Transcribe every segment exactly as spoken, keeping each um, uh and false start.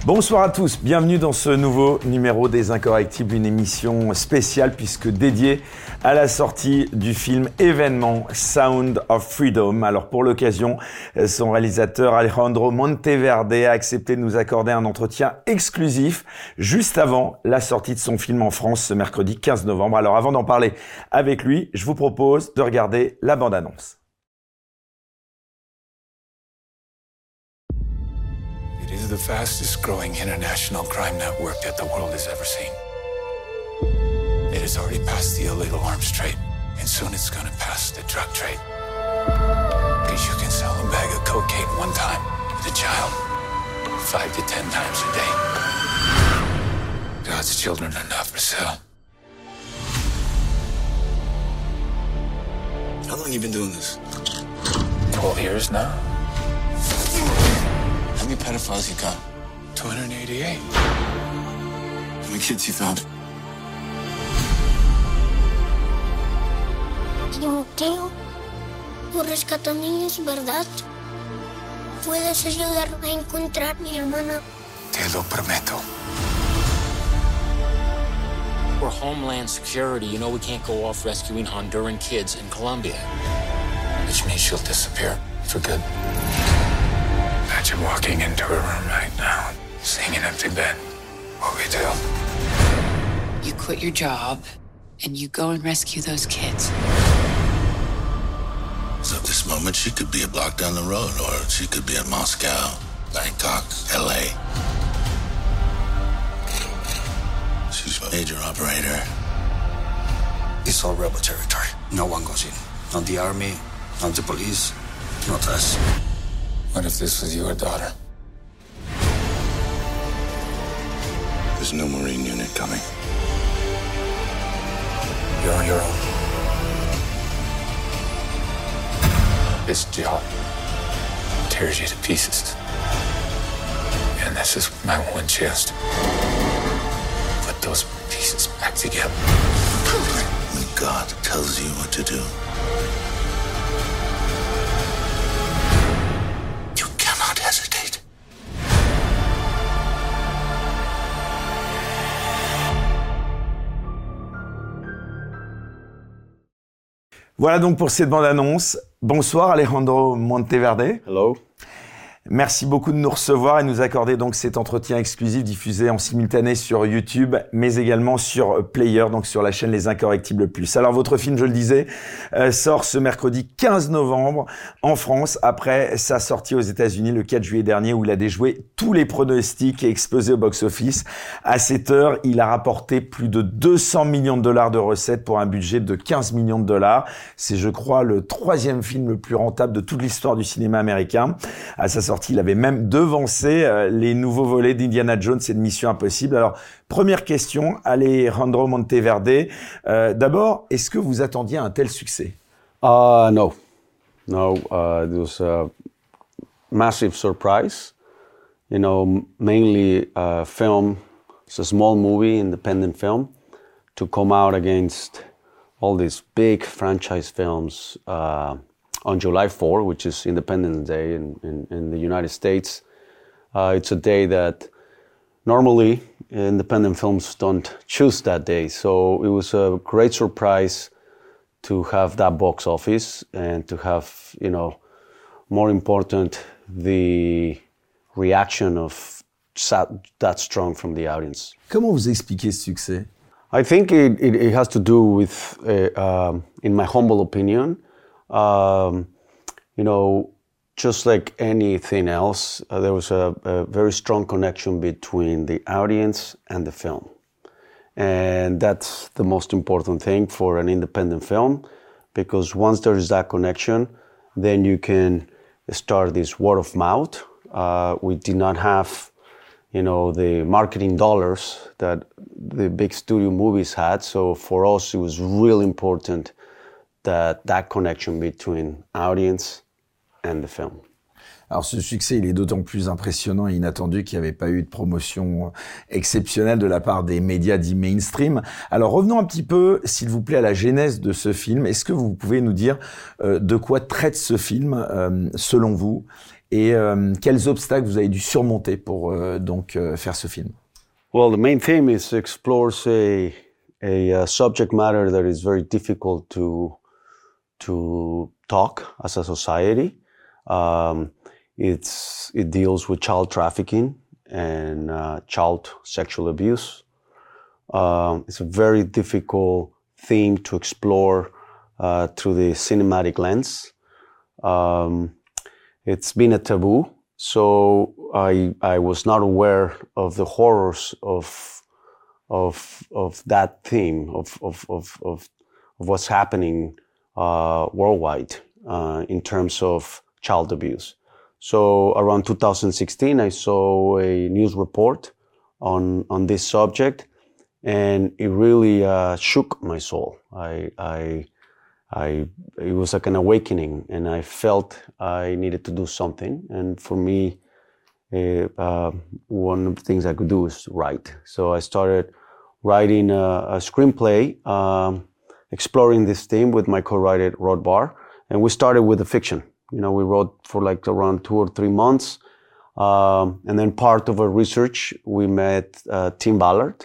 Bonsoir à tous, bienvenue dans ce nouveau numéro des Incorrectibles, une émission spéciale puisque dédiée à la sortie du film événement Sound of Freedom. Alors pour l'occasion, son réalisateur Alejandro Monteverde a accepté de nous accorder un entretien exclusif juste avant la sortie de son film en France ce mercredi quinze novembre. Alors avant d'en parler avec lui, je vous propose de regarder la bande-annonce. It is the fastest growing international crime network that the world has ever seen. It has already passed the illegal arms trade, and soon it's gonna pass the drug trade. Because you can sell a bag of cocaine one time to a child, five to ten times a day. God's children are not for sale. How long have you been doing this? Twelve years now. How many pedophiles you got? two hundred eighty-eight. How many kids you found? Timoteo, tú rescatas niños, ¿verdad? ¿Puedes ayudarme a encontrar a mi hermana? Te lo prometo. We're Homeland Security. You know we can't go off rescuing Honduran kids in Colombia. Which means she'll disappear for good. Imagine walking into her room right now, seeing an empty bed. What we do? You quit your job, and you go and rescue those kids. So at this moment, she could be a block down the road, or she could be in Moscow, Bangkok, L A. She's a major operator. It's all rebel territory. No one goes in. Not the army, not the police, not us. What if this was your daughter? There's no Marine unit coming. You're on your own. This job tears you to pieces. And this is my one chance to put those pieces back together. When God tells you what to do, you cannot hesitate. Voilà donc pour cette bande-annonce. Bonsoir Alejandro Monteverde. Hello. Merci beaucoup de nous recevoir et nous accorder donc cet entretien exclusif diffusé en simultané sur YouTube, mais également sur Player, donc sur la chaîne Les Incorrectibles Plus. Alors votre film, je le disais, euh, sort ce mercredi quinze novembre en France, après sa sortie aux États-Unis le quatre juillet dernier, où il a déjoué tous les pronostics et explosé au box-office. À cette heure, il a rapporté plus de deux cents millions de dollars de recettes pour un budget de quinze millions de dollars. C'est, je crois, le troisième film le plus rentable de toute l'histoire du cinéma américain. À sa sortie, il avait même devancé euh, les nouveaux volets d'Indiana Jones et de Mission Impossible. Alors, première question, Alejandro Monteverde. Euh, d'abord, est-ce que vous attendiez un tel succès? Uh, no. No, uh, it was a massive surprise. You know, mainly a film, it's a small movie, independent film, to come out against all these big franchise films uh, on July fourth, which is Independence Day in, in, in the United States. Uh, it's a day that normally independent films don't choose that day. So it was a great surprise to have that box office and to have, you know, more important, the reaction of that strong from the audience. Comment vous expliquez ce succès? I think it, it, it has to do with, uh, um, in my humble opinion, Um, you know, just like anything else, uh, there was a, a very strong connection between the audience and the film. And that's the most important thing for an independent film, because once there is that connection, then you can start this word of mouth. Uh, we did not have, you know, the marketing dollars that the big studio movies had. So for us, it was really important that that connection between audience and the film. Alors ce succès, il est d'autant plus impressionnant et inattendu qu'il n'y avait pas eu de promotion exceptionnelle de la part des médias dits mainstream. Alors revenons un petit peu, s'il vous plaît, à la genèse de ce film. Est-ce que vous pouvez nous dire euh, de quoi traite ce film, euh, selon vous, et euh, quels obstacles vous avez dû surmonter pour euh, donc euh, faire ce film? Well, the main theme is explores a a uh, subject matter that is very difficult to to talk as a society. Um, it's it deals with child trafficking and uh, child sexual abuse. Um, it's a very difficult theme to explore uh, through the cinematic lens. Um, it's been a taboo. So I I was not aware of the horrors of of of that theme of of of of, of what's happening uh, worldwide uh, in terms of child abuse. So around two thousand sixteen, I saw a news report on on this subject, and it really uh, shook my soul. I I. I, it was like an awakening, and I felt I needed to do something. And for me, uh, uh, one of the things I could do is write. So I started writing a, a screenplay, um, exploring this theme with my co-writer, Rod Barr. And we started with a fiction. You know, we wrote for like around two or three months. Um, and then part of our research, we met uh, Tim Ballard,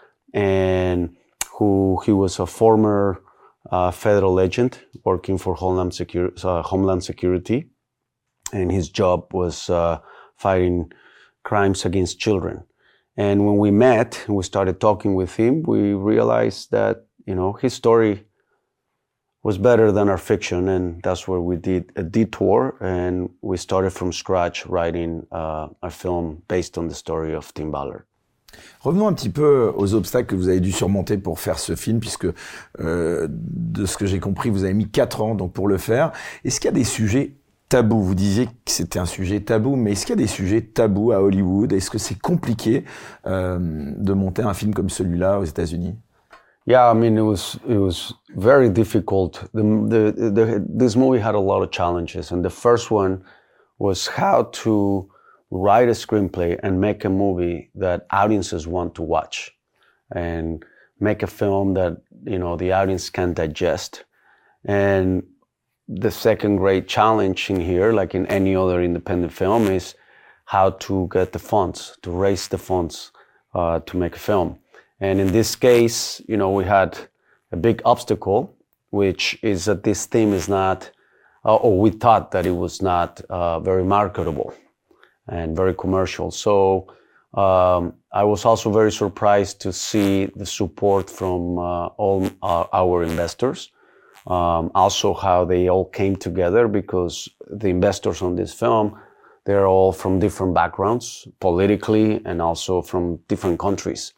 and who he was a former Uh, federal agent working for Homeland, Secur- uh, Homeland Security, and his job was uh, fighting crimes against children. And when we met and we started talking with him, we realized that, you know, his story was better than our fiction, and that's where we did a detour, and we started from scratch writing uh, a film based on the story of Tim Ballard. Revenons un petit peu aux obstacles que vous avez dû surmonter pour faire ce film, puisque euh, de ce que j'ai compris, vous avez mis quatre ans donc pour le faire. Est-ce qu'il y a des sujets tabous? Vous disiez que c'était un sujet tabou, mais est-ce qu'il y a des sujets tabous à Hollywood? Est-ce que c'est compliqué euh, de monter un film comme celui-là aux États-Unis? Yeah, I mean, it was it was very difficult. The, the, the, this movie had a lot of challenges, and the first one was how to write a screenplay and make a movie that audiences want to watch, and make a film that, you know, the audience can digest. And the second great challenge in here, like in any other independent film, is how to get the funds, to raise the funds uh, to make a film. And in this case, you know, we had a big obstacle, which is that this theme is not, uh, or we thought that it was not uh, very marketable and very commercial. So um, I was also very surprised to see the support from uh, all our, our investors. Um, also how they all came together, because the investors on this film, they're all from different backgrounds, politically, and also from different countries.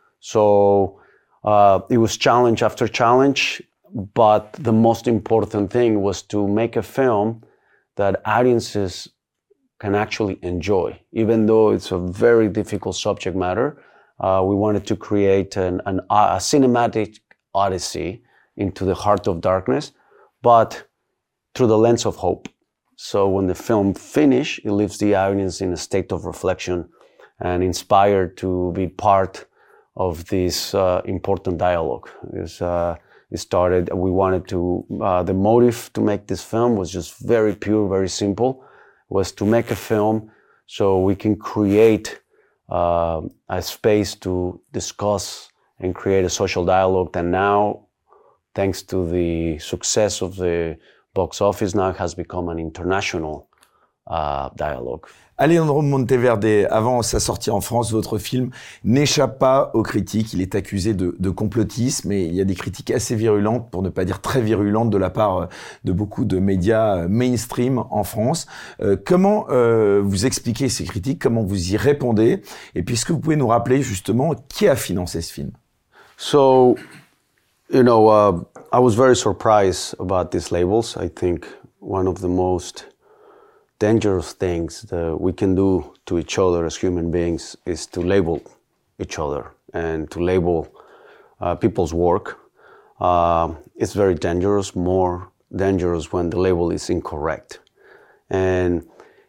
So uh, it was challenge after challenge, but the most important thing was to make a film that audiences can actually enjoy. Even though it's a very difficult subject matter, uh, we wanted to create an, an, a cinematic odyssey into the heart of darkness, but through the lens of hope. So when the film finishes, it leaves the audience in a state of reflection and inspired to be part of this uh, important dialogue. It's, uh, it started, we wanted to, uh, the motive to make this film was just very pure, very simple, was to make a film so we can create uh, a space to discuss and create a social dialogue that now, thanks to the success of the box office, now has become an international uh, dialogue. Alejandro Monteverde, avant sa sortie en France, votre film n'échappe pas aux critiques. Il est accusé de, de complotisme, et il y a des critiques assez virulentes, pour ne pas dire très virulentes, de la part de beaucoup de médias mainstream en France. Euh, comment euh, vous expliquez ces critiques? Comment vous y répondez? Et puis, est-ce que vous pouvez nous rappeler justement qui a financé ce film? So, you know, uh, I was very surprised about these labels. I think one of the most dangerous things that we can do to each other as human beings is to label each other and to label uh, people's work. Uh, it's very dangerous, more dangerous when the label is incorrect. And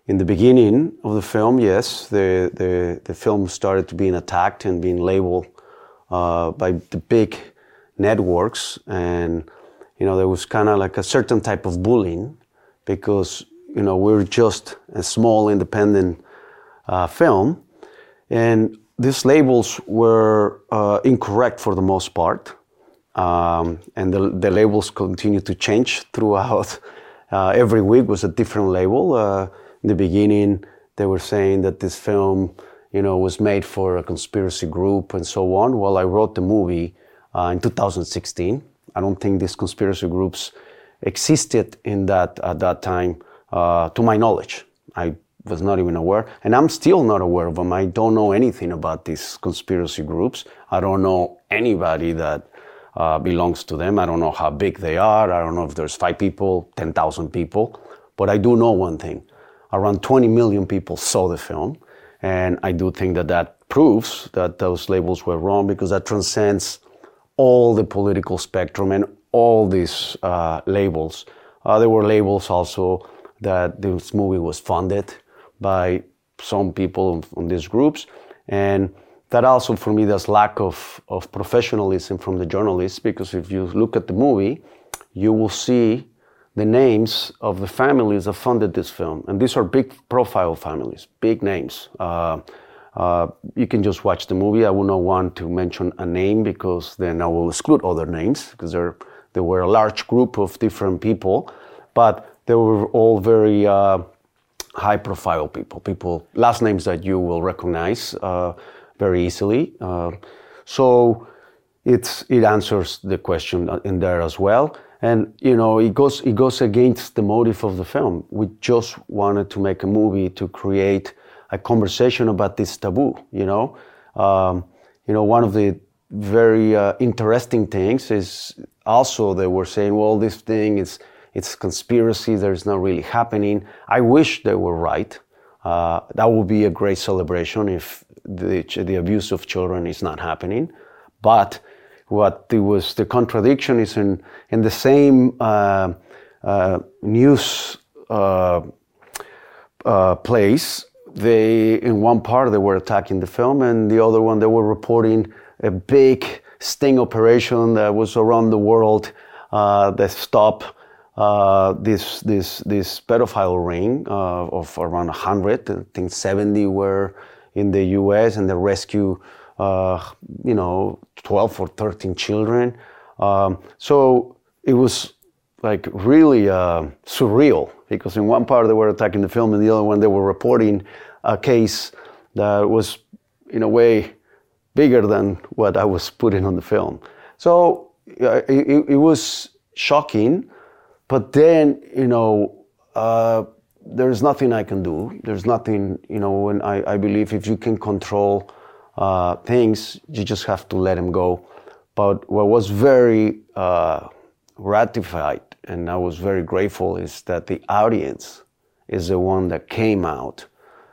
in the beginning of the film, yes, the, the, the film started to being attacked and being labeled uh, by the big networks. And, you know, there was kind of like a certain type of bullying because, you know, we're just a small independent uh, film. And these labels were uh, incorrect for the most part. Um, and the, the labels continue to change throughout. Uh, every week was a different label. Uh, in the beginning, they were saying that this film, you know, was made for a conspiracy group and so on. Well, I wrote the movie uh, in two thousand sixteen. I don't think these conspiracy groups existed in that at that time, uh, to my knowledge. I was not even aware, and I'm still not aware of them. I don't know anything about these conspiracy groups. I don't know anybody that Uh, belongs to them. I don't know how big they are. I don't know if there's five people, ten thousand people. But I do know one thing. Around twenty million people saw the film. And I do think that that proves that those labels were wrong because that transcends all the political spectrum and all these uh, labels. Uh, there were labels also that this movie was funded by some people on these groups. And that also, for me, there's lack of, of professionalism from the journalists, because if you look at the movie, you will see the names of the families that funded this film. And these are big profile families, big names. Uh, uh, you can just watch the movie. I will not want to mention a name because then I will exclude other names, because there, there were a large group of different people, but they were all very uh, high profile people, people, last names that you will recognize uh, very easily. Uh, so it's, it answers the question in there as well. And, you know, it goes, it goes against the motive of the film. We just wanted to make a movie to create a conversation about this taboo, you know. Um, you know, one of the very uh, interesting things is also they were saying, well, this thing is, it's conspiracy, there's not really happening. I wish they were right. Uh, that would be a great celebration if the, the abuse of children is not happening. But what it was, the contradiction is in, in the same uh, uh, news uh, uh, place, they, in one part they were attacking the film, and the other one they were reporting a big sting operation that was around the world uh, that stopped uh, this this this pedophile ring uh, of around one hundred. I think seventy were in the U S, and they rescue uh, you know twelve or thirteen children. Um, so it was like really uh, surreal, because in one part they were attacking the film, and the other one they were reporting a case that was in a way bigger than what I was putting on the film. So uh, it, it was shocking, but then, you know, uh, there's nothing I can do. There's nothing, you know, when I, I believe if you can control uh, things, you just have to let them go. But what was very uh, ratified, and I was very grateful, is that the audience is the one that came out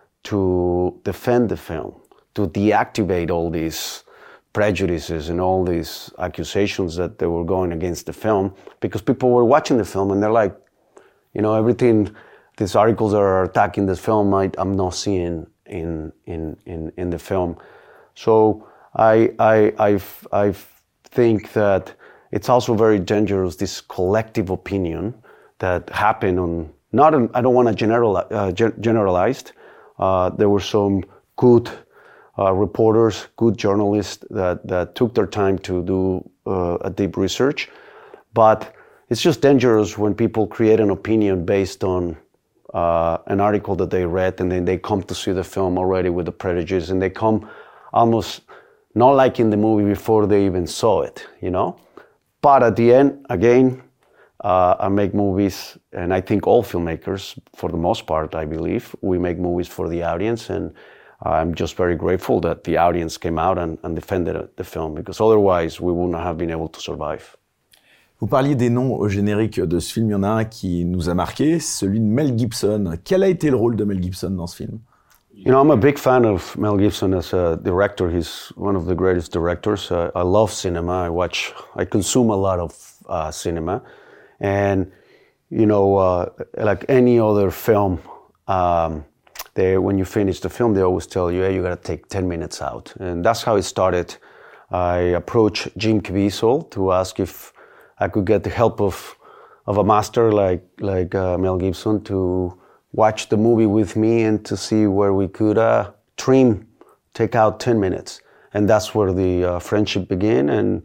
to defend the film, to deactivate all these prejudices and all these accusations that they were going against the film, because people were watching the film and they're like, you know, everything, these articles that are attacking this film, I, I'm not seeing in in in in the film. So I I I've, I think that it's also very dangerous, this collective opinion that happened on, not on, I don't want to general, uh, generalize. Uh, there were some good uh, reporters, good journalists that, that took their time to do uh, a deep research. But it's just dangerous when people create an opinion based on uh, an article that they read, and then they come to see the film already with the prejudice, and they come almost not liking the movie before they even saw it, you know? But at the end, again, uh, I make movies, and I think all filmmakers, for the most part, I believe, we make movies for the audience, and I'm just very grateful that the audience came out and, and defended the film, because otherwise we wouldn't have been able to survive. Vous parliez des noms au générique de ce film. Il y en a un qui nous a marqué, celui de Mel Gibson. Quel a été le rôle de Mel Gibson dans ce film? You know, I'm a big fan of Mel Gibson as a director. He's one of the greatest directors. Uh, I love cinema. I watch, I consume a lot of uh, cinema. And, you know, uh, like any other film um, they, when you finish the film, they always tell you, hey, you got to take ten minutes out. And that's how it started. I approached Jim Caviezel to ask if I could get the help of of a master like like uh, Mel Gibson to watch the movie with me and to see where we could uh, trim, take out ten minutes. And that's where the uh, friendship began. And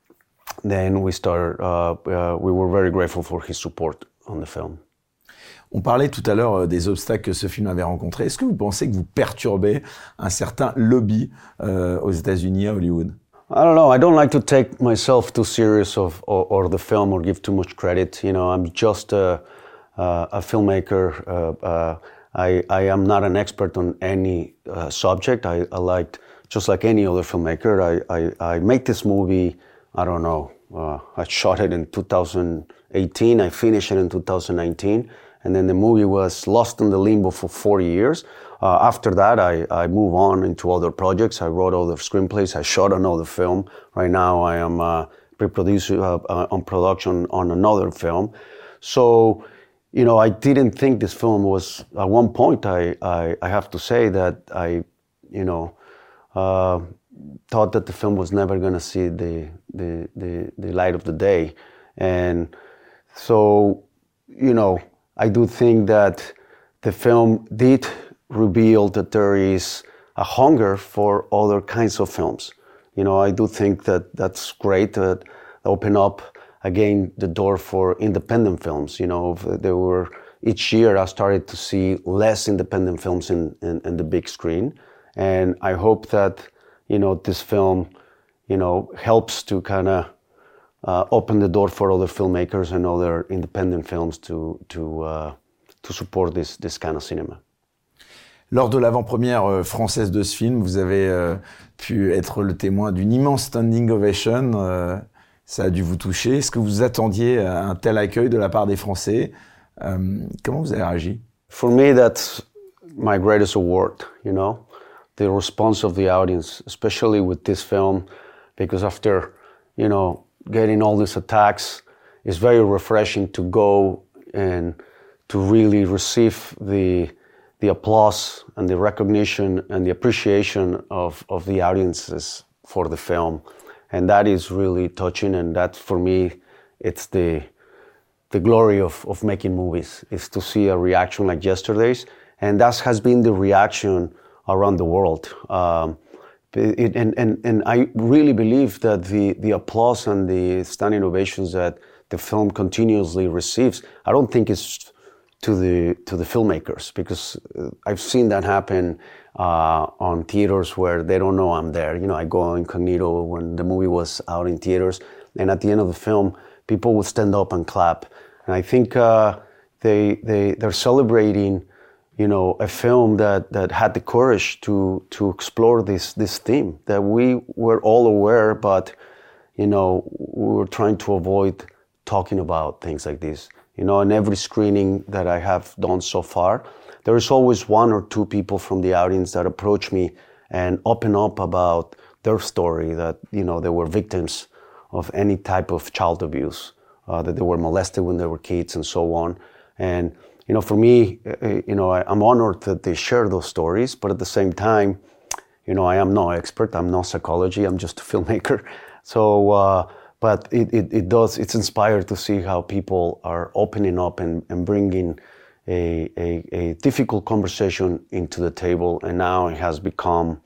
then we started, uh, uh, we were very grateful for his support on the film. On parlait tout à l'heure des obstacles que ce film avait rencontrés. Est-ce que vous pensez que vous perturbez un certain lobby euh, aux États-Unis, à Hollywood? I don't know. I don't like to take myself too serious of or, or the film or give too much credit. You know, I'm just a, uh, a filmmaker. Uh, uh, I, I am not an expert on any uh, subject. I, I liked, just like any other filmmaker, I, I, I made this movie, I don't know, uh, I shot it in two thousand eighteen, I finished it in two thousand nineteen, and then the movie was lost in the limbo for four years. Uh, after that, I, I moved on into other projects. I wrote other screenplays. I shot another film. Right now, I am uh, pre-producer uh, uh, on production on another film. So, you know, I didn't think this film was, at one point, I, I, I have to say that I, you know, uh, thought that the film was never going to see the, the, the, the light of the day. And so, you know, I do think that the film did reveal that there is a hunger for other kinds of films. You know, I do think that that's great, that open up again the door for independent films. You know, there were, each year I started to see less independent films in, in, in the big screen. And I hope that, you know, this film, you know, helps to kind of uh, open the door for other filmmakers and other independent films to, to, uh, to support this, this kind of cinema. Lors de l'avant-première française de ce film, vous avez euh, pu être le témoin d'une immense standing ovation. Euh, ça a dû vous toucher. Est-ce que vous attendiez un tel accueil de la part des Français? euh, Comment vous avez réagi? For me, that's my greatest award, you know, the response of the audience, especially with this film, because after, you know, getting all these attacks, it's very refreshing to go and to really receive the the applause and the recognition and the appreciation of, of the audiences for the film. And that is really touching, and that, for me, it's the the glory of, of making movies, is to see a reaction like yesterday's. And that has been the reaction around the world. Um, it, and, and, and I really believe that the, the applause and the standing ovations that the film continuously receives, I don't think it's to the to the filmmakers, because I've seen that happen uh, on theaters where they don't know I'm there. You know, I go incognito when the movie was out in theaters, and at the end of the film, people would stand up and clap. And I think uh, they they they're celebrating, you know, a film that that had the courage to to explore this this theme that we were all aware, but you know, we were trying to avoid talking about things like this. You know, in every screening that I have done so far, there is always one or two people from the audience that approach me and open up about their story, that, you know, they were victims of any type of child abuse, uh, that they were molested when they were kids and so on. And, you know, for me, you know, I, I'm honored that they share those stories, but at the same time, you know, I am no expert, I'm no psychology, I'm just a filmmaker. So, uh, But it, it, it does, it's inspired to see how people are opening up and, and bringing a, a, a difficult conversation into the table. And now it has become,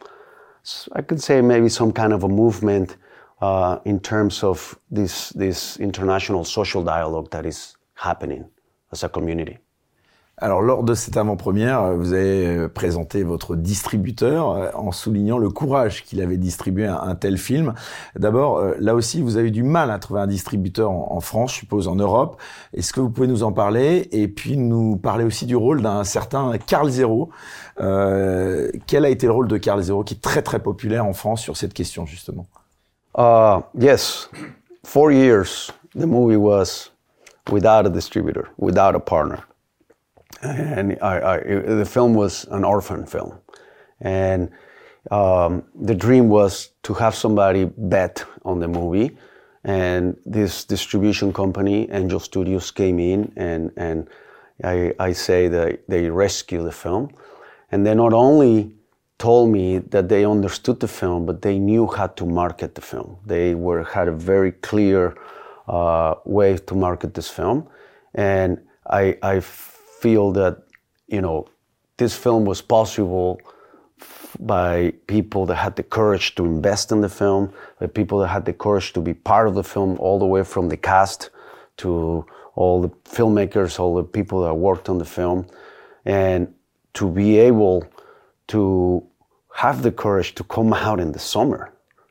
I could say, maybe some kind of a movement uh, in terms of this, this international social dialogue that is happening as a community. Alors, lors de cette avant-première, vous avez présenté votre distributeur en soulignant le courage qu'il avait distribué un, un tel film. D'abord, là aussi, vous avez eu du mal à trouver un distributeur en, en France, je suppose, en Europe. Est-ce que vous pouvez nous en parler? Et puis, nous parler aussi du rôle d'un certain Karl Zero. Euh, quel a été le rôle de Karl Zero, qui est très, très populaire en France sur cette question, justement? Uh, yes. Four years, the movie was without a distributor, without a partner. And I, I, the film was an orphan film. And um, the dream was to have somebody bet on the movie. And this distribution company, Angel Studios, came in and, and I, I say that they rescue the film. And they not only told me that they understood the film, but they knew how to market the film. They were had a very clear uh, way to market this film. And I, I feel that, you know, this film was possible by people that had the courage to invest in the film, by people that had the courage to be part of the film, all the way from the cast to all the filmmakers, all the people that worked on the film, and to be able to have the courage to come out in the summer.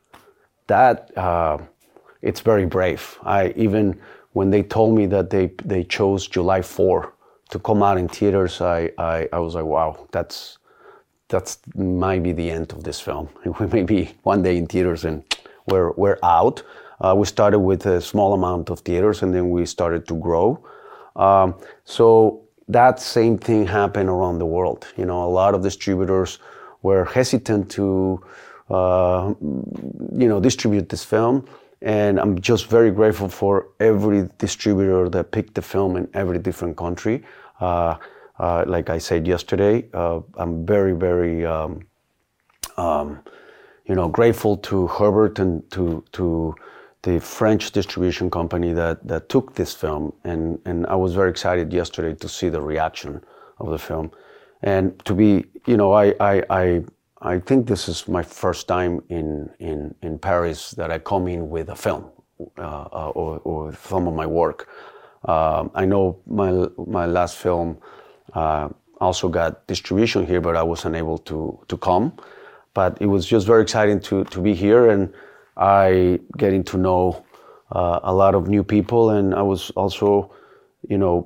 That, uh, it's very brave. I even, when they told me that they, they chose July fourth to come out in theaters, I, I, I was like, wow, that's, that's might be the end of this film. We may be one day in theaters and we're, we're out. Uh, we started with a small amount of theaters and then we started to grow. Um, so that same thing happened around the world. You know, a lot of distributors were hesitant to, uh, you know, distribute this film. And I'm just very grateful for every distributor that picked the film in every different country. Uh, uh, like I said yesterday, uh, I'm very, very, um, um, you know, grateful to Herbert and to to the French distribution company that, that took this film. And, and I was very excited yesterday to see the reaction of the film. And to be, you know, I, I, I, I think this is my first time in, in, in Paris that I come in with a film uh, uh, or, or some of my work. Uh, I know my, my last film uh, also got distribution here, but I wasn't able to, to come. But it was just very exciting to, to be here, and I getting to know uh, a lot of new people, and I was also, you know,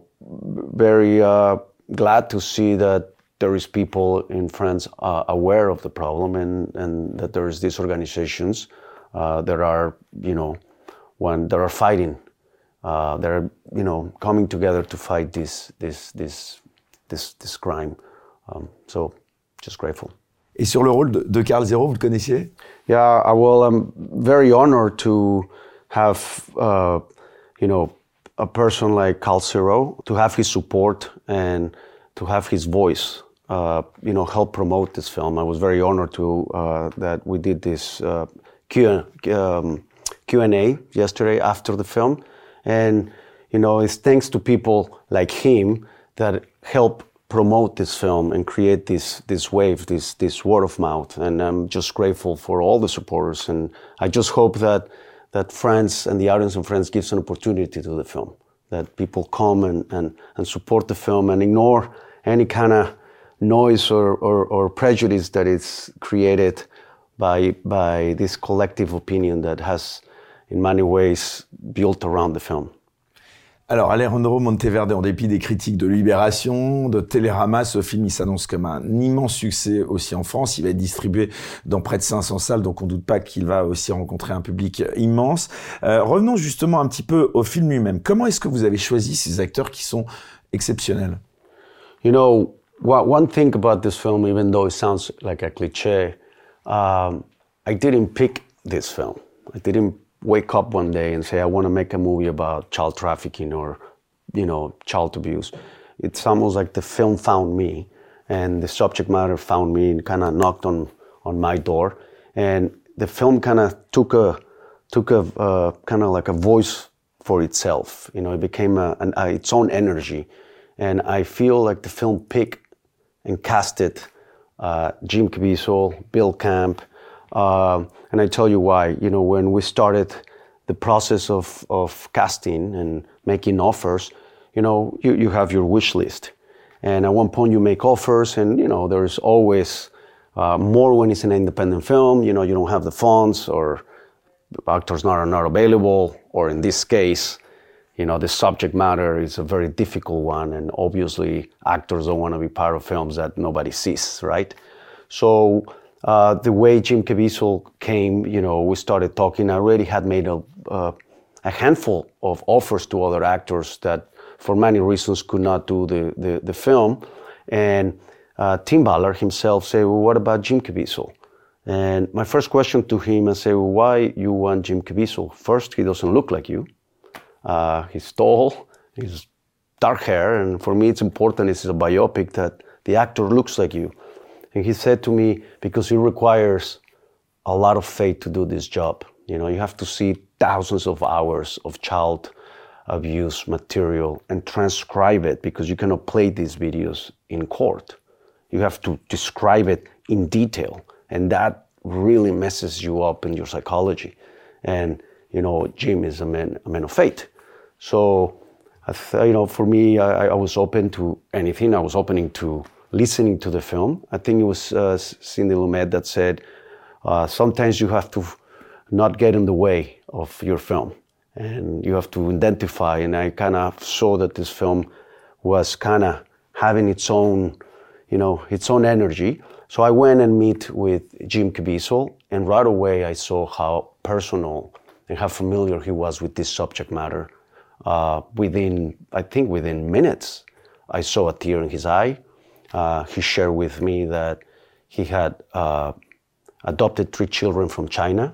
very uh, glad to see that there is people in France uh, aware of the problem, and, and that there is these organizations uh, that are, you know, when that are fighting, uh, that are, you know, coming together to fight this this this this this crime. Um, so, just grateful. Et sur le rôle de, de Karl Zero, vous le connaissiez? Yeah, well, I'm very honored to have, uh, you know, a person like Karl Zero, to have his support and to have his voice, uh, you know, help promote this film. I was very honored to uh, that we did this uh, Q, um, Q and A yesterday after the film, and you know, it's thanks to people like him that help promote this film and create this this wave, this this word of mouth. And I'm just grateful for all the supporters. And I just hope that that France and the audience in France gives an opportunity to the film, that people come and, and, and support the film and ignore any kind of noise or, or, or prejudice that is created by by this collective opinion that has in many ways built around the film. Alors, Alejandro Monteverde, en dépit des critiques de Libération, de Télérama, ce film, il s'annonce comme un immense succès aussi en France. Il va être distribué dans près de cinq cents salles, donc on ne doute pas qu'il va aussi rencontrer un public immense. Euh, revenons justement un petit peu au film lui-même. Comment est-ce que vous avez choisi ces acteurs qui sont exceptionnels? You know, one thing about this film, even though it sounds like a cliché, um, I didn't pick this film. I didn't wake up one day and say, I want to make a movie about child trafficking or, you know, child abuse. It's almost like the film found me, and the subject matter found me and kind of knocked on, on my door. And the film kind of took a, took a, uh, kind of like a voice for itself. You know, it became a, an, uh, its own energy. And I feel like the film picked and casted uh, Jim Caviezel, Bill Camp. Uh, and I tell you why. You know, when we started the process of, of casting and making offers, you know, you, you have your wish list. And at one point you make offers, and, you know, there's always uh, more when it's an independent film. You know, you don't have the funds, or actors not, are not available, or in this case, you know, the subject matter is a very difficult one, and obviously actors don't want to be part of films that nobody sees, right? So uh, the way Jim Caviezel came, you know, we started talking. I already had made a, uh, a handful of offers to other actors that, for many reasons, could not do the, the, the film. And uh, Tim Ballard himself said, well, what about Jim Caviezel? And my first question to him, I said, well, why you want Jim Caviezel? First, he doesn't look like you. Uh, he's tall, he's dark hair, and for me it's important, it's a biopic, that the actor looks like you. And he said to me, because it requires a lot of faith to do this job. You know, you have to see thousands of hours of child abuse material and transcribe it, because you cannot play these videos in court. You have to describe it in detail, and that really messes you up in your psychology. And, you know, Jim is a man, a man of faith. So, I th- you know, for me, I, I was open to anything. I was opening to listening to the film. I think it was uh, Cindy Lumet that said, uh, sometimes you have to not get in the way of your film, and you have to identify. And I kind of saw that this film was kind of having its own, you know, its own energy. So I went and meet with Jim Caviezel, and right away I saw how personal and how familiar he was with this subject matter. Uh, within, I think within minutes, I saw a tear in his eye. Uh, he shared with me that he had uh, adopted three children from China,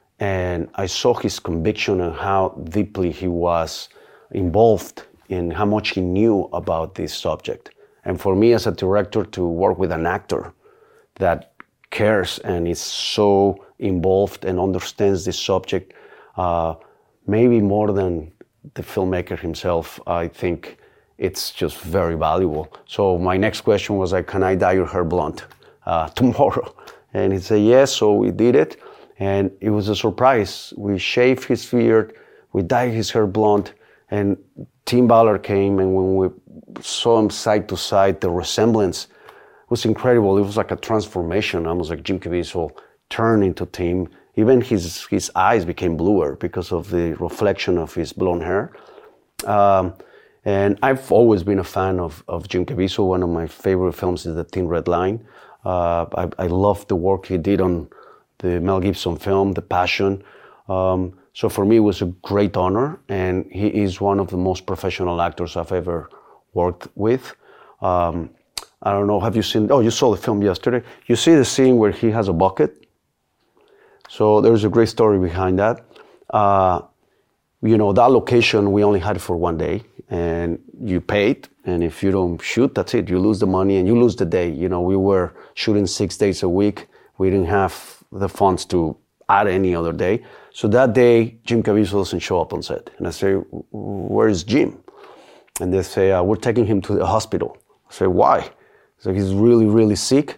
and I saw his conviction and how deeply he was involved in how much he knew about this subject. And for me as a director to work with an actor that cares and is so involved and understands this subject, uh, maybe more than the filmmaker himself, I think it's just very valuable. So my next question was like, can I dye your hair blonde uh, tomorrow? And he said yes, so we did it. And it was a surprise. We shaved his beard, we dyed his hair blonde, and Tim Ballard came, and when we saw him side to side, the resemblance was incredible. It was like a transformation, almost like Jim Caviezel turned into Tim. Even his, his eyes became bluer because of the reflection of his blonde hair. Um, and I've always been a fan of, of Jim Caviezel. One of my favorite films is The Thin Red Line. Uh, I, I love the work he did on the Mel Gibson film, The Passion. Um, so for me, it was a great honor, and he is one of the most professional actors I've ever worked with. Um, I don't know, have you seen, oh, you saw the film yesterday. You see the scene where he has a bucket? So there's a great story behind that. Uh, you know, that location, we only had it for one day, and you paid, and if you don't shoot, that's it. You lose the money and you lose the day. You know, we were shooting six days a week. We didn't have the funds to add any other day. So that day, Jim Caviezel doesn't show up on set. And I say, where is Jim? And they say, uh, we're taking him to the hospital. I say, why? So he's really, really sick.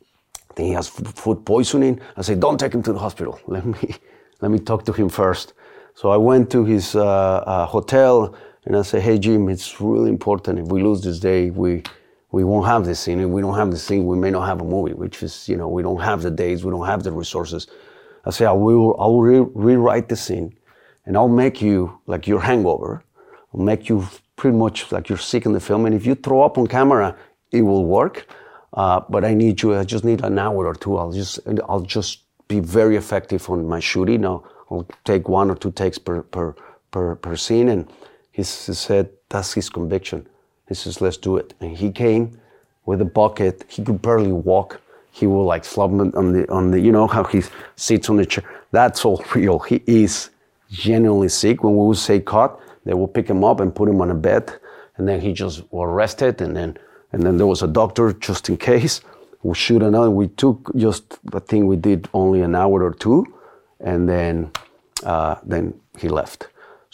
I think he has food poisoning. I say, don't take him to the hospital. Let me, let me talk to him first. So I went to his uh, uh, hotel, and I say, hey, Jim, it's really important. If we lose this day, we we won't have this scene. If we don't have this scene, we may not have a movie, which is, you know, we don't have the days, we don't have the resources. I say, I will, I'll re- rewrite the scene, and I'll make you like your hangover. I'll make you pretty much like you're sick in the film, and if you throw up on camera, it will work. Uh, but I need you, I just need an hour or two. I'll just, I'll just be very effective on my shooting. I'll, I'll take one or two takes per, per, per, per scene. And he, he said, that's his conviction. He says, let's do it. And he came with a bucket. He could barely walk. He will like flop on the, on the, you know, how he sits on the chair. That's all real. He is genuinely sick. When we would say cut, they will pick him up and put him on a bed. And then he just was arrested. And then, and then there was a doctor just in case. We shoot another. We took just, I think we did only an hour or two. And then, uh, then he left.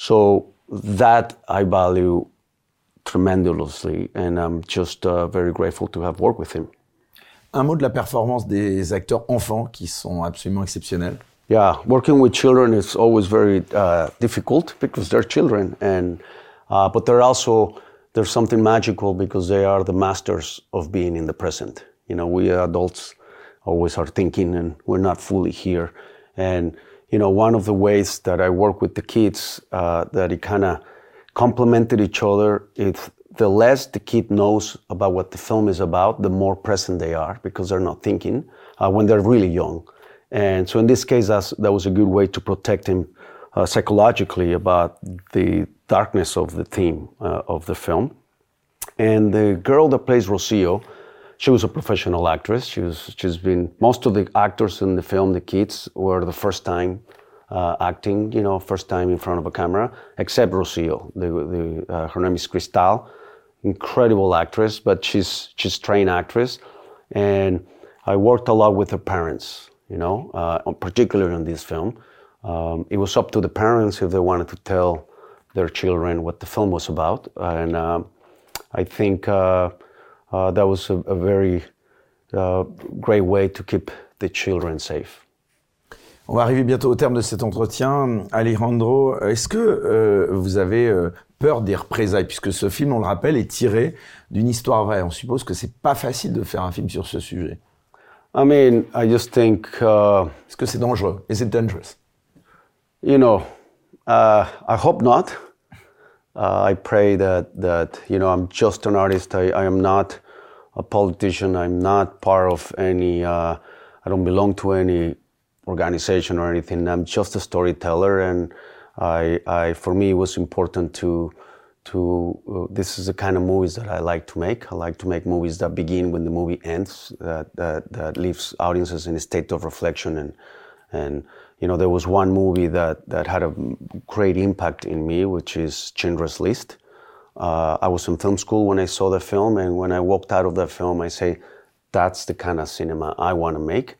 So that I value tremendously, and I'm just uh, very grateful to have worked with him. Un mot de la performance des acteurs enfants qui sont absolument exceptionnels. Yeah, working with children is always very uh, difficult because they're children, and uh, but they're also there's something magical because they are the masters of being in the present. You know, we adults always are thinking, and we're not fully here. And you know, one of the ways that I work with the kids uh, that it kind of complemented each other. If the less the kid knows about what the film is about, the more present they are because they're not thinking uh, when they're really young. And so in this case, that's, that was a good way to protect him uh, psychologically about the darkness of the theme uh, of the film. And the girl that plays Rocio, she was a professional actress. She was, she's been, most of the actors in the film, the kids, were the first time uh, acting, you know, first time in front of a camera, except Rocio. The, the, uh, her name is Cristal, incredible actress, but she's she's trained actress, and I worked a lot with her parents, you know, uh, particularly on this film. Um, it was up to the parents if they wanted to tell their children what the film was about, and uh, I think uh, uh, that was a, a very uh, great way to keep the children safe. On va arriver bientôt au terme de cet entretien. Alejandro, est-ce que euh, vous avez euh, peur des représailles, puisque ce film, on le rappelle, est tiré d'une histoire vraie. On suppose que c'est pas facile de faire un film sur ce sujet. I mean, I just think... Uh, Est-ce que c'est dangereux? Is it dangerous? You know, uh, I hope not. Uh, I pray that, that, you know, I'm just an artist. I, I am not a politician. I'm not part of any... Uh, I don't belong to any organization or anything. I'm just a storyteller, and I, I for me, it was important to, to. Uh, this is the kind of movies that I like to make. I like to make movies that begin when the movie ends, that that, that leaves audiences in a state of reflection. And and you know, there was one movie that that had a great impact in me, which is Schindler's List. Uh, I was in film school when I saw the film, and when I walked out of that film, I say, that's the kind of cinema I want to make.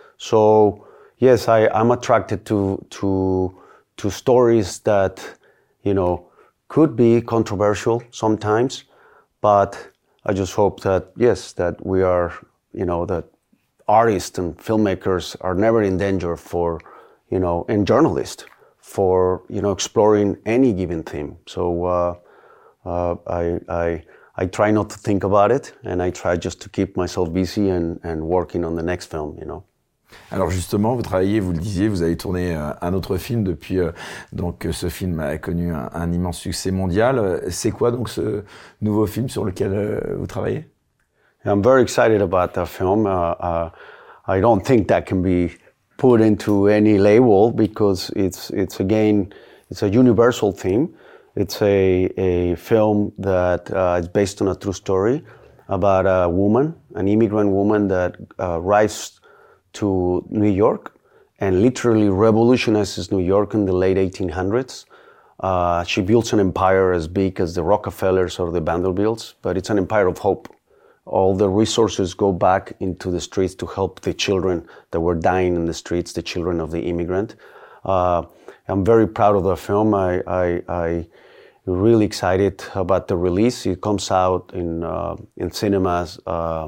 So. Yes, I, I'm attracted to to to stories that, you know, could be controversial sometimes, but I just hope that, yes, that we are, you know, that artists and filmmakers are never in danger for, you know, and journalists for, you know, exploring any given theme. So uh, uh, I, I, I try not to think about it, and I try just to keep myself busy and, and working on the next film, you know. Alors justement, vous travaillez, vous le disiez, vous avez tourné un autre film depuis, euh, donc ce film a connu un, un immense succès mondial. C'est quoi donc ce nouveau film sur lequel euh, vous travaillez? I'm very excited about that film. Uh, uh, I don't think that can be put into any label because it's it's again it's a universal theme. It's a a film that uh, is based on a true story about a woman, an immigrant woman that uh, arrives to New York and literally revolutionizes New York in the late eighteen hundreds. Uh, she builds an empire as big as the Rockefellers or the Vanderbilts, but it's an empire of hope. All the resources go back into the streets to help the children that were dying in the streets, the children of the immigrant. Uh, I'm very proud of the film. I, I, I really excited about the release. It comes out in uh, in cinemas uh,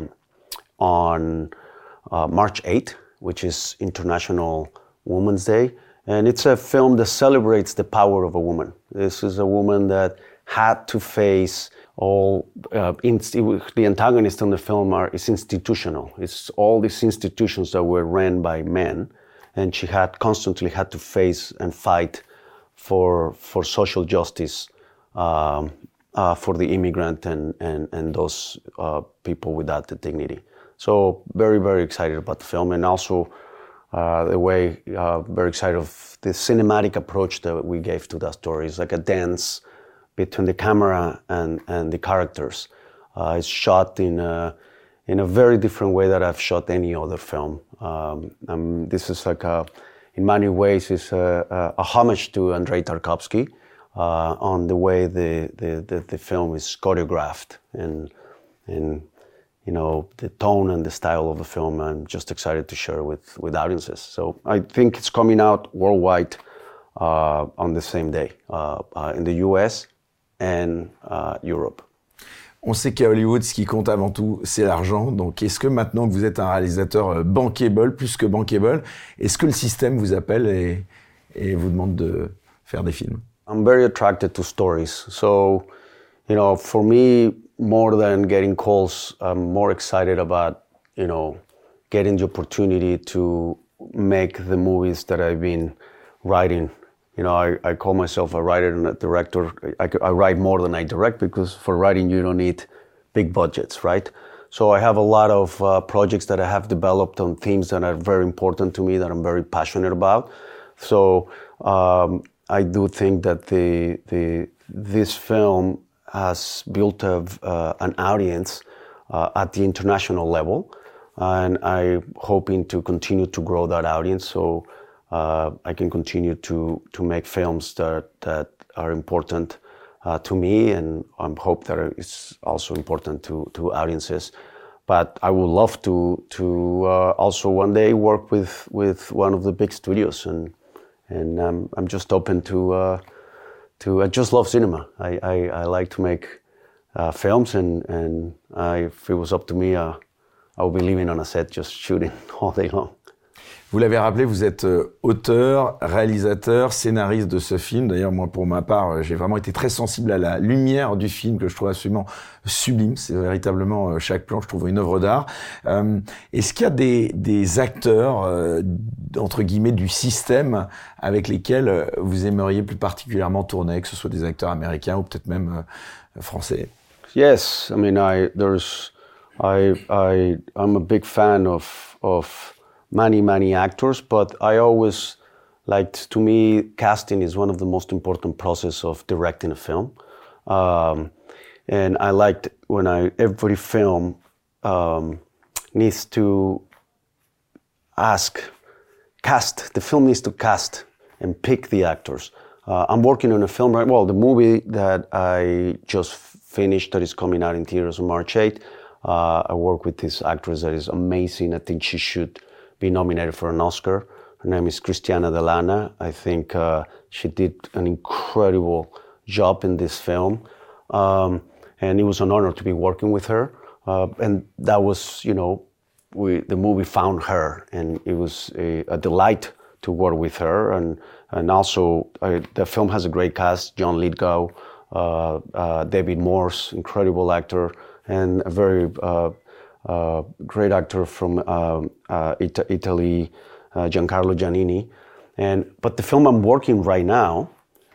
on Uh, March eighth, which is International Women's Day. And it's a film that celebrates the power of a woman. This is a woman that had to face all, uh, in, the antagonist in the film are, is institutional. It's all these institutions that were ran by men. And she had constantly had to face and fight for, for social justice um, uh, for the immigrant and, and, and those uh, people without the dignity. So very, very excited about the film, and also uh, the way, uh, very excited of the cinematic approach that we gave to that story. It's like a dance between the camera and, and the characters. Uh, it's shot in a, in a very different way that I've shot any other film. Um, um, this is like a, in many ways, it's a, a, a homage to Andrei Tarkovsky uh, on the way the, the, the, the film is choreographed and, and you know, the tone and the style of the film. I'm just excited to share with, with audiences. So I think it's coming out worldwide uh, on the same day, uh, uh, in the U S and uh, Europe. On sait qu'à Hollywood, ce qui compte avant tout, c'est l'argent. Donc, est-ce que maintenant que vous êtes un réalisateur bankable, plus que bankable, est-ce que le système vous appelle et, et vous demande de faire des films? I'm very attracted to stories. So, you know, for me, more than getting calls, I'm more excited about, you know, getting the opportunity to make the movies that I've been writing. You know, I, I call myself a writer and a director. I, I write more than I direct because for writing you don't need big budgets, right? So I have a lot of uh, projects that I have developed on themes that are very important to me, that I'm very passionate about. So um, I do think that the the this film has built a, uh, an audience uh, at the international level, and I'm hoping to continue to grow that audience. So uh, I can continue to to make films that that are important uh, to me, and I hope that it's also important to to audiences. But I would love to to uh, also one day work with with one of the big studios, and and um, I'm just open to uh, to. I just love cinema. I I, I like to make uh, films, and and I, if it was up to me, uh, I would be living on a set, just shooting all day long. Vous l'avez rappelé, vous êtes auteur, réalisateur, scénariste de ce film. D'ailleurs, moi, pour ma part, j'ai vraiment été très sensible à la lumière du film que je trouve absolument sublime. C'est véritablement, chaque plan, je trouve, une œuvre d'art. Euh, est-ce qu'il y a des, des acteurs, euh, entre guillemets, du système avec lesquels vous aimeriez plus particulièrement tourner, que ce soit des acteurs américains ou peut-être même euh, français? Yes, I mean, I there's, I I I'm a big fan of of. many, many actors, but I always liked, to me, casting is one of the most important process of directing a film. Um, and I liked when I, every film um, needs to ask, cast, the film needs to cast and pick the actors. Uh, I'm working on a film right, well, the movie that I just finished that is coming out in theaters on March eighth, uh, I work with this actress that is amazing. I think she should be nominated for an Oscar. Her name is Cristiana Delana. I think uh, she did an incredible job in this film. Um, and it was an honor to be working with her. Uh, and that was, you know, we, the movie found her, and it was a, a delight to work with her. And, and also, uh, the film has a great cast, John Lithgow, uh, uh, David Morse, incredible actor, and a very uh, Uh, great actor from um, uh, It- Italy, uh, Giancarlo Giannini. And but the film I'm working right now,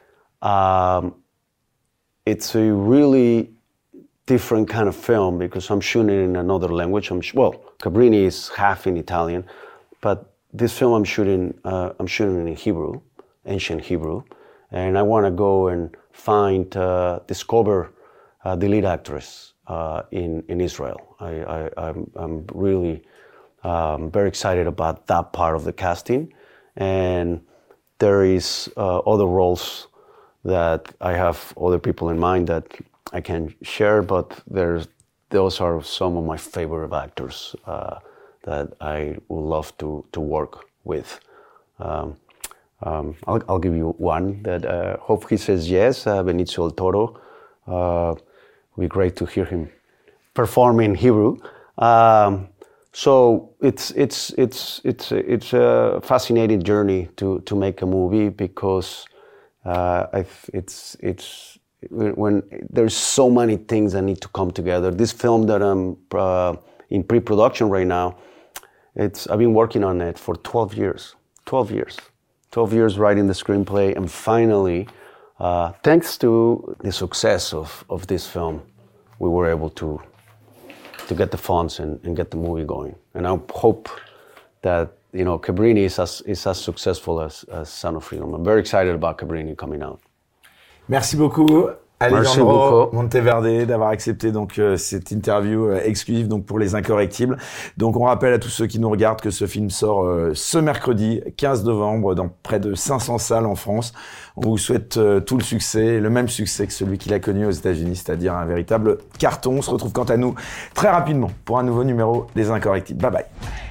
um, it's a really different kind of film because I'm shooting in another language. I'm sh- well, Cabrini is half in Italian, but this film I'm shooting, uh, I'm shooting in Hebrew, ancient Hebrew, and I want to go and find, uh, discover uh, the lead actress uh, in in Israel. I, I, I'm, I'm really um, very excited about that part of the casting, and there is uh, other roles that I have other people in mind that I can share, but there's those are some of my favorite actors uh, that I would love to to work with. Um, um, I'll, I'll give you one that uh, hope he says yes. Uh, Benicio del Toro. Uh, it'd be great to hear him perform in Hebrew. Um, so it's it's it's it's it's a fascinating journey to to make a movie because uh, I've, it's it's when there's so many things that need to come together. This film that I'm uh, in pre-production right now, it's I've been working on it for twelve years. twelve years. twelve years writing the screenplay, and finally, uh, thanks to the success of, of this film, we were able to to get the funds and, and get the movie going. And I hope that, you know, Cabrini is as, is as successful as, as Sound of Freedom. I'm very excited about Cabrini coming out. Merci beaucoup, Alejandro Monteverde, d'avoir accepté donc euh, cette interview euh, exclusive donc pour les Incorrectibles. Donc on rappelle à tous ceux qui nous regardent que ce film sort euh, ce mercredi quinze novembre dans près de cinq cents salles en France. On vous souhaite euh, tout le succès, le même succès que celui qu'il a connu aux États-Unis, c'est-à-dire un véritable carton. On se retrouve quant à nous très rapidement pour un nouveau numéro des Incorrectibles. Bye bye.